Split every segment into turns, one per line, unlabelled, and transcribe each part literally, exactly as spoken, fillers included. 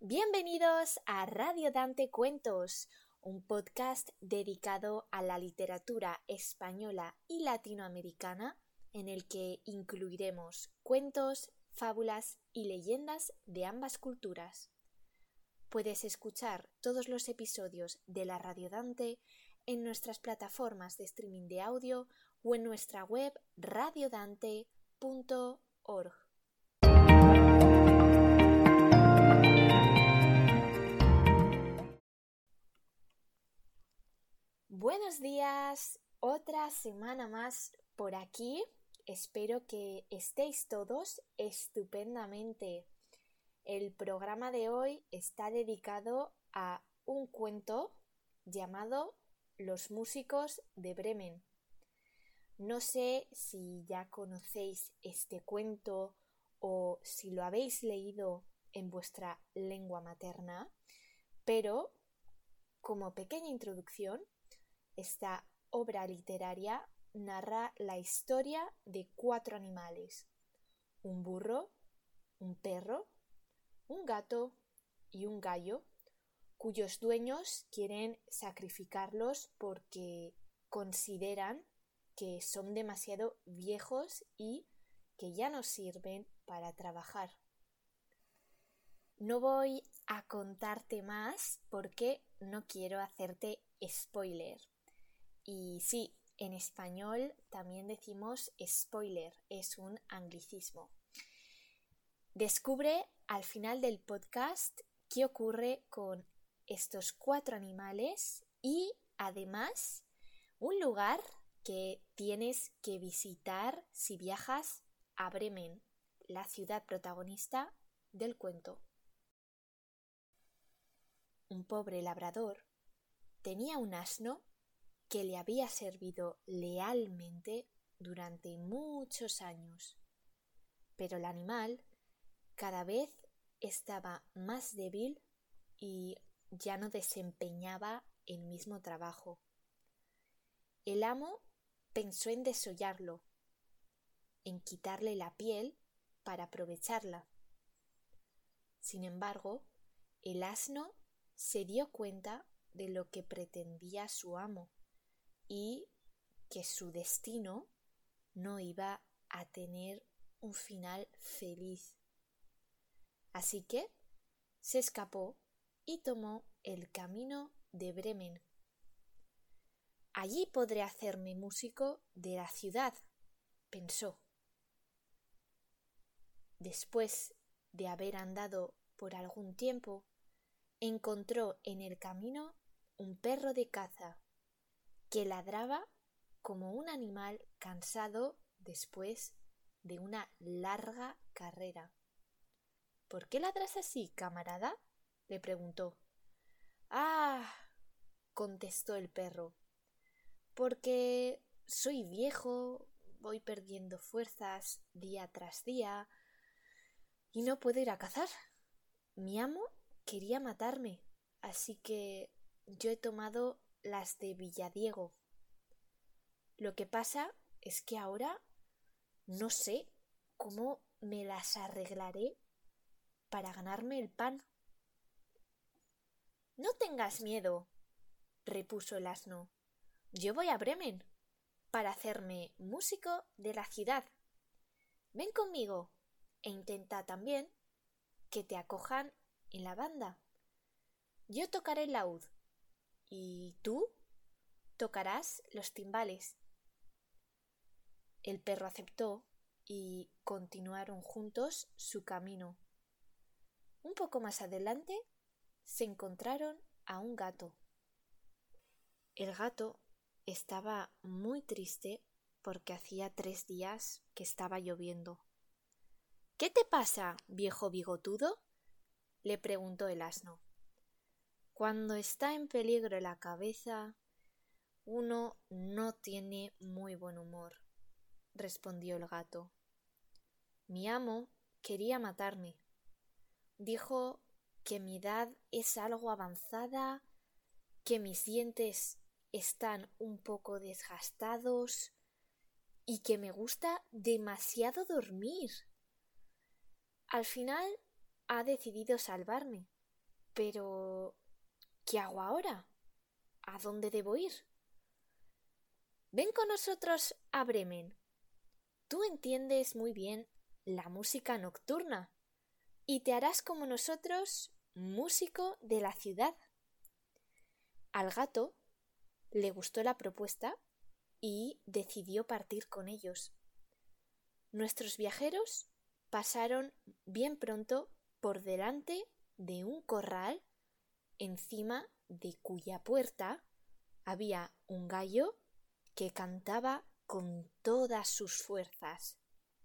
Bienvenidos a Radio Dante Cuentos, un podcast dedicado a la literatura española y latinoamericana en el que incluiremos cuentos, fábulas y leyendas de ambas culturas. Puedes escuchar todos los episodios de la Radio Dante en nuestras plataformas de streaming de audio o en nuestra web radiodante punto org. Buenos días, otra semana más por aquí. Espero que estéis todos estupendamente. El programa de hoy está dedicado a un cuento llamado Los músicos de Bremen. No sé si ya conocéis este cuento o si lo habéis leído en vuestra lengua materna, pero como pequeña introducción, esta obra literaria narra la historia de cuatro animales: un burro, un perro, un gato y un gallo, cuyos dueños quieren sacrificarlos porque consideran que son demasiado viejos y que ya no sirven para trabajar. No voy a contarte más porque no quiero hacerte spoiler. Y sí, en español también decimos spoiler, es un anglicismo. Descubre al final del podcast qué ocurre con estos cuatro animales y además un lugar que tienes que visitar si viajas a Bremen, la ciudad protagonista del cuento. Un pobre labrador tenía un asno que le había servido lealmente durante muchos años, pero el animal cada vez estaba más débil y ya no desempeñaba el mismo trabajo. El amo pensó en desollarlo, en quitarle la piel para aprovecharla. Sin embargo, el asno se dio cuenta de lo que pretendía su amo y que su destino no iba a tener un final feliz. Así que se escapó y tomó el camino de Bremen. Allí podré hacerme músico de la ciudad, pensó. Después de haber andado por algún tiempo, encontró en el camino un perro de caza que ladraba como un animal cansado después de una larga carrera. ¿Por qué ladras así, camarada?, le preguntó. Ah, contestó el perro, porque soy viejo, voy perdiendo fuerzas día tras día y no puedo ir a cazar. Mi amo quería matarme, así que yo he tomado las de Villadiego. Lo que pasa es que ahora no sé cómo me las arreglaré para ganarme el pan. No tengas miedo, repuso el asno. Yo voy a Bremen para hacerme músico de la ciudad. Ven conmigo e intenta también que te acojan en la banda. Yo tocaré el laúd y tú tocarás los timbales. El perro aceptó y continuaron juntos su camino. Un poco más adelante se encontraron a un gato. El gato estaba muy triste porque hacía tres días que estaba lloviendo. ¿Qué te pasa, viejo bigotudo?, le preguntó el asno. Cuando está en peligro la cabeza, uno no tiene muy buen humor, respondió el gato. Mi amo quería matarme. Dijo que mi edad es algo avanzada, que mis dientes están un poco desgastados y que me gusta demasiado dormir. Al final ha decidido salvarme Pero, ¿qué hago ahora? ¿A dónde debo ir? Ven con nosotros a Bremen. Tú entiendes muy bien la música nocturna y te harás como nosotros músico de la ciudad. Al gato le gustó la propuesta y decidió partir con ellos. Nuestros viajeros pasaron bien pronto por delante de un corral encima de cuya puerta había un gallo que cantaba con todas sus fuerzas.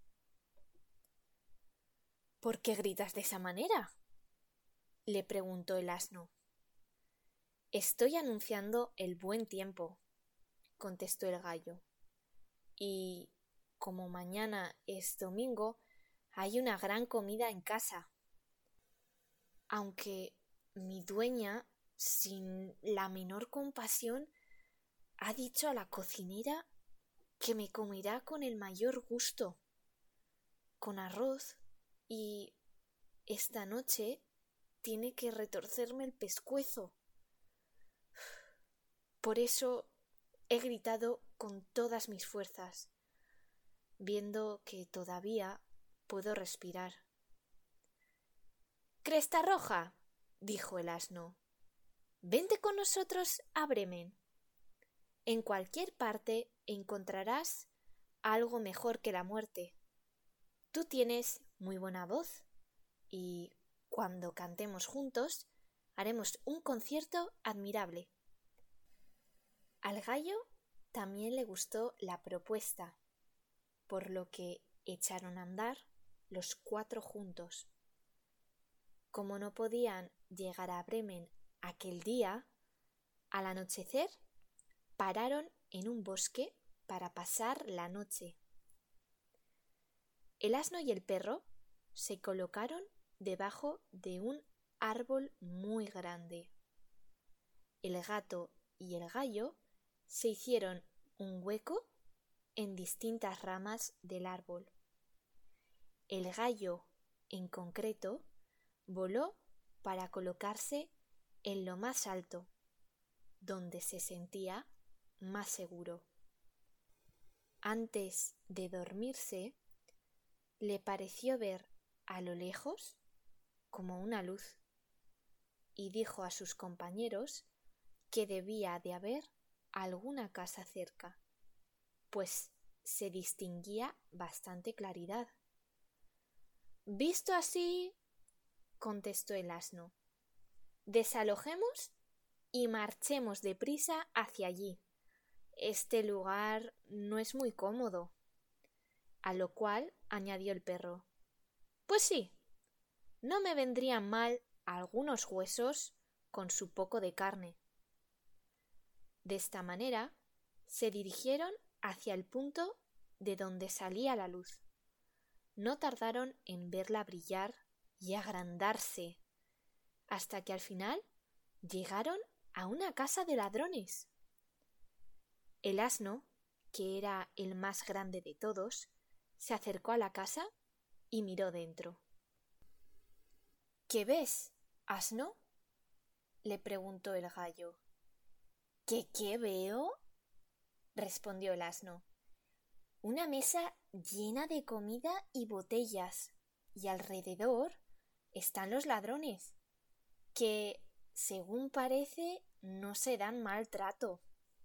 ¿Por qué gritas de esa manera?, le preguntó el asno. Estoy anunciando el buen tiempo, contestó el gallo, y como mañana es domingo, hay una gran comida en casa. Aunque mi dueña, sin la menor compasión, ha dicho a la cocinera que me comerá con el mayor gusto, con arroz, y esta noche tiene que retorcerme el pescuezo. Por eso he gritado con todas mis fuerzas, viendo que todavía puedo respirar. —Cresta Roja —dijo el asno—, vente con nosotros a Bremen. En cualquier parte encontrarás algo mejor que la muerte. Tú tienes muy buena voz y cuando cantemos juntos haremos un concierto admirable. Al gallo también le gustó la propuesta, por lo que echaron a andar los cuatro juntos. Como no podían llegar a Bremen aquel día, al anochecer pararon en un bosque para pasar la noche. El asno y el perro se colocaron debajo de un árbol muy grande. El gato y el gallo se hicieron un hueco en distintas ramas del árbol. El gallo, en concreto, voló para colocarse en lo más alto, donde se sentía más seguro. Antes de dormirse, le pareció ver a lo lejos como una luz y dijo a sus compañeros que debía de haber alguna casa cerca, pues se distinguía bastante claridad. Visto así, contestó el asno, desalojemos y marchemos deprisa hacia allí. Este lugar no es muy cómodo. A lo cual añadió el perro, pues sí, no me vendrían mal algunos huesos con su poco de carne. De esta manera se dirigieron hacia el punto de donde salía la luz. No tardaron en verla brillar y agrandarse, hasta que al final llegaron a una casa de ladrones. El asno, que era el más grande de todos, se acercó a la casa y miró dentro. ¿Qué ves, asno?, le preguntó el gallo. ¿Qué qué veo?, respondió el asno. Una mesa llena de comida y botellas, y alrededor están los ladrones, que, según parece, no se dan mal trato.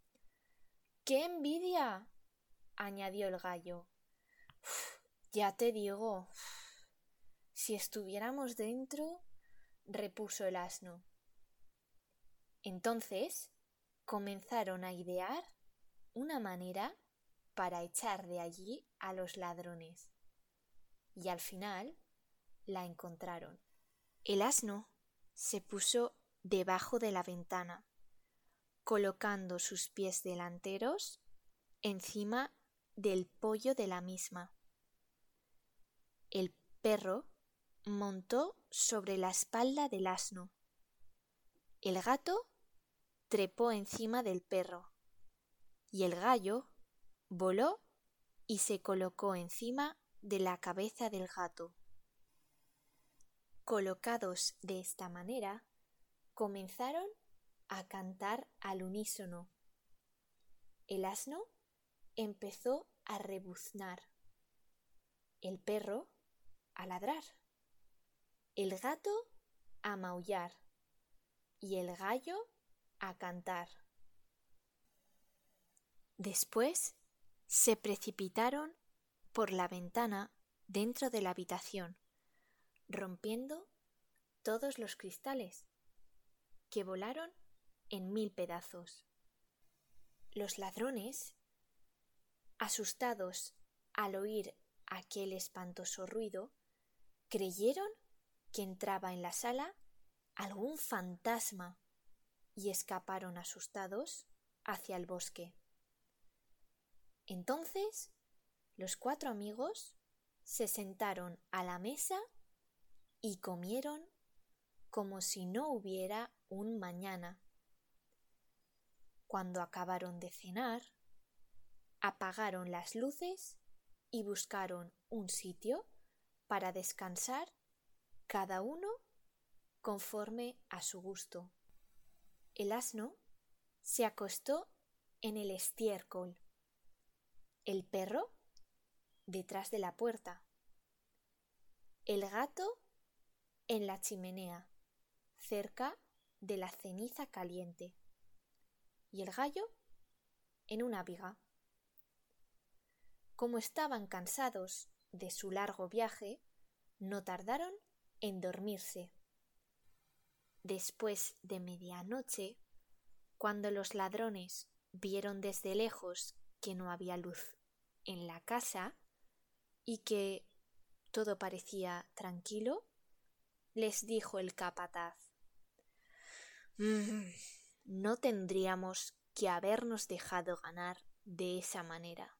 ¡Qué envidia!, añadió el gallo. Uf, ya te digo, uf, si estuviéramos dentro, repuso el asno. Entonces comenzaron a idear una manera para echar de allí a los ladrones, y al final la encontraron. El asno se puso debajo de la ventana, colocando sus pies delanteros encima del poyo de la misma. El perro montó sobre la espalda del asno. El gato trepó encima del perro y el gallo voló y se colocó encima de la cabeza del gato. Colocados de esta manera, comenzaron a cantar al unísono. El asno empezó a rebuznar, el perro a ladrar, el gato a maullar y el gallo a cantar. Después se precipitaron por la ventana dentro de la habitación, rompiendo todos los cristales, que volaron en mil pedazos. Los ladrones, asustados al oír aquel espantoso ruido, creyeron que entraba en la sala algún fantasma y escaparon asustados hacia el bosque. Entonces, los cuatro amigos se sentaron a la mesa y comieron como si no hubiera un mañana. Cuando acabaron de cenar, apagaron las luces y buscaron un sitio para descansar, cada uno conforme a su gusto. El asno se acostó en el estiércol, el perro detrás de la puerta, el gato en la chimenea, cerca de la ceniza caliente, y el gallo en una viga. Como estaban cansados de su largo viaje, no tardaron en dormirse. Después de medianoche, cuando los ladrones vieron desde lejos que no había luz en la casa y que todo parecía tranquilo, les dijo el capataz: «Mm, no tendríamos que habernos dejado ganar de esa manera».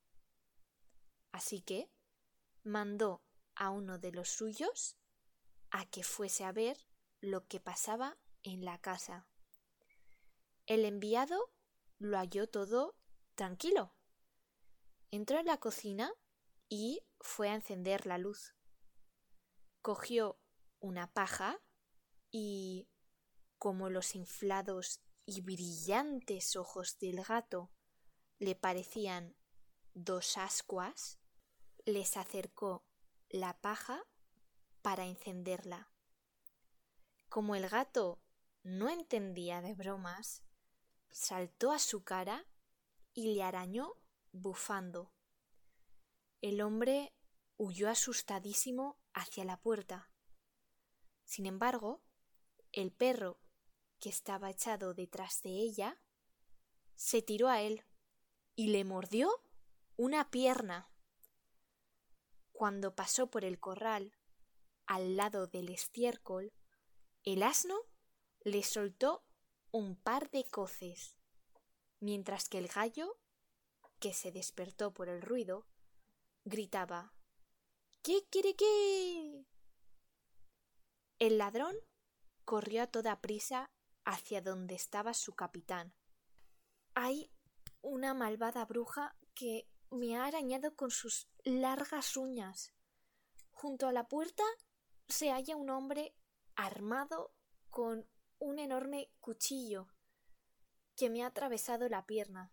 Así que mandó a uno de los suyos a que fuese a ver lo que pasaba en la casa. El enviado lo halló todo tranquilo. Entró en la cocina y fue a encender la luz. Cogió una paja y, como los inflados y brillantes ojos del gato le parecían dos ascuas, les acercó la paja para encenderla. Como el gato no entendía de bromas, saltó a su cara y le arañó bufando. El hombre huyó asustadísimo hacia la puerta. Sin embargo, el perro, que estaba echado detrás de ella, se tiró a él y le mordió una pierna. Cuando pasó por el corral, al lado del estiércol, el asno le soltó un par de coces, mientras que el gallo, que se despertó por el ruido, gritaba: «¡Kikiriki!». El ladrón corrió a toda prisa hacia donde estaba su capitán. «Hay una malvada bruja que me ha arañado con sus largas uñas. Junto a la puerta se halla un hombre armado con un enorme cuchillo que me ha atravesado la pierna.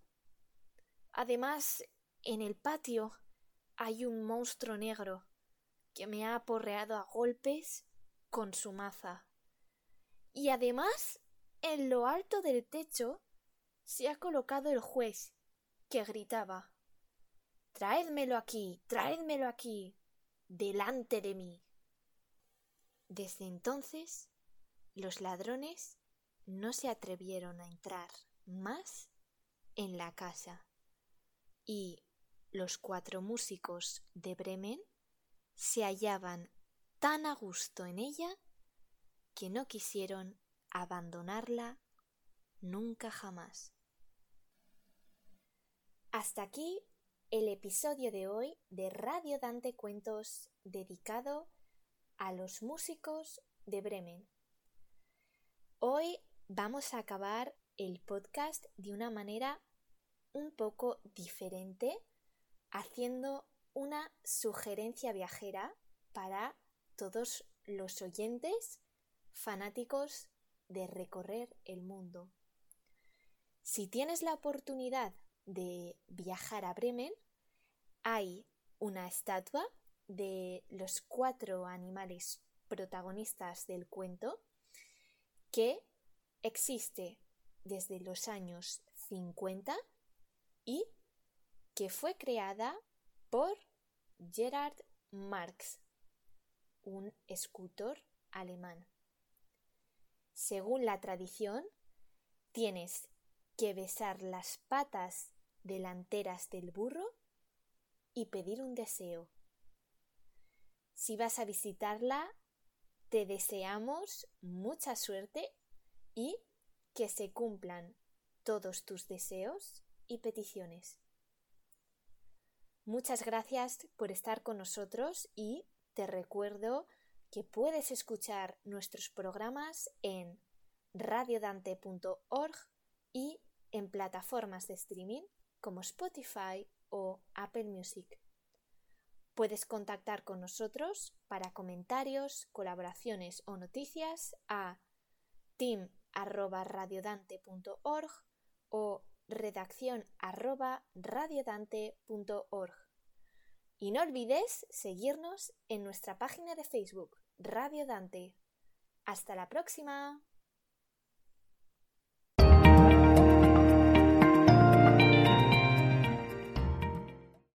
Además, en el patio hay un monstruo negro que me ha aporreado a golpes con su maza. Y además, en lo alto del techo se ha colocado el juez, que gritaba: «Traédmelo aquí, traédmelo aquí, delante de mí». Desde entonces, los ladrones no se atrevieron a entrar más en la casa, y los cuatro músicos de Bremen se hallaban tan a gusto en ella que no quisieron abandonarla nunca jamás. Hasta aquí el episodio de hoy de Radio Dante Cuentos, dedicado a los músicos de Bremen. Hoy vamos a acabar el podcast de una manera un poco diferente, haciendo una sugerencia viajera para todos los oyentes fanáticos de recorrer el mundo. Si tienes la oportunidad de viajar a Bremen, hay una estatua de los cuatro animales protagonistas del cuento que existe desde los años cincuenta y que fue creada por Gerhard Marx, un escultor alemán. Según la tradición, tienes que besar las patas delanteras del burro y pedir un deseo. Si vas a visitarla, te deseamos mucha suerte y que se cumplan todos tus deseos y peticiones. Muchas gracias por estar con nosotros y te recuerdo que puedes escuchar nuestros programas en radiodante punto org y en plataformas de streaming como Spotify o Apple Music. Puedes contactar con nosotros para comentarios, colaboraciones o noticias a team arroba radiodante punto org o redacción arroba radiodante punto org. Y no olvides seguirnos en nuestra página de Facebook, Radio Dante. ¡Hasta la próxima!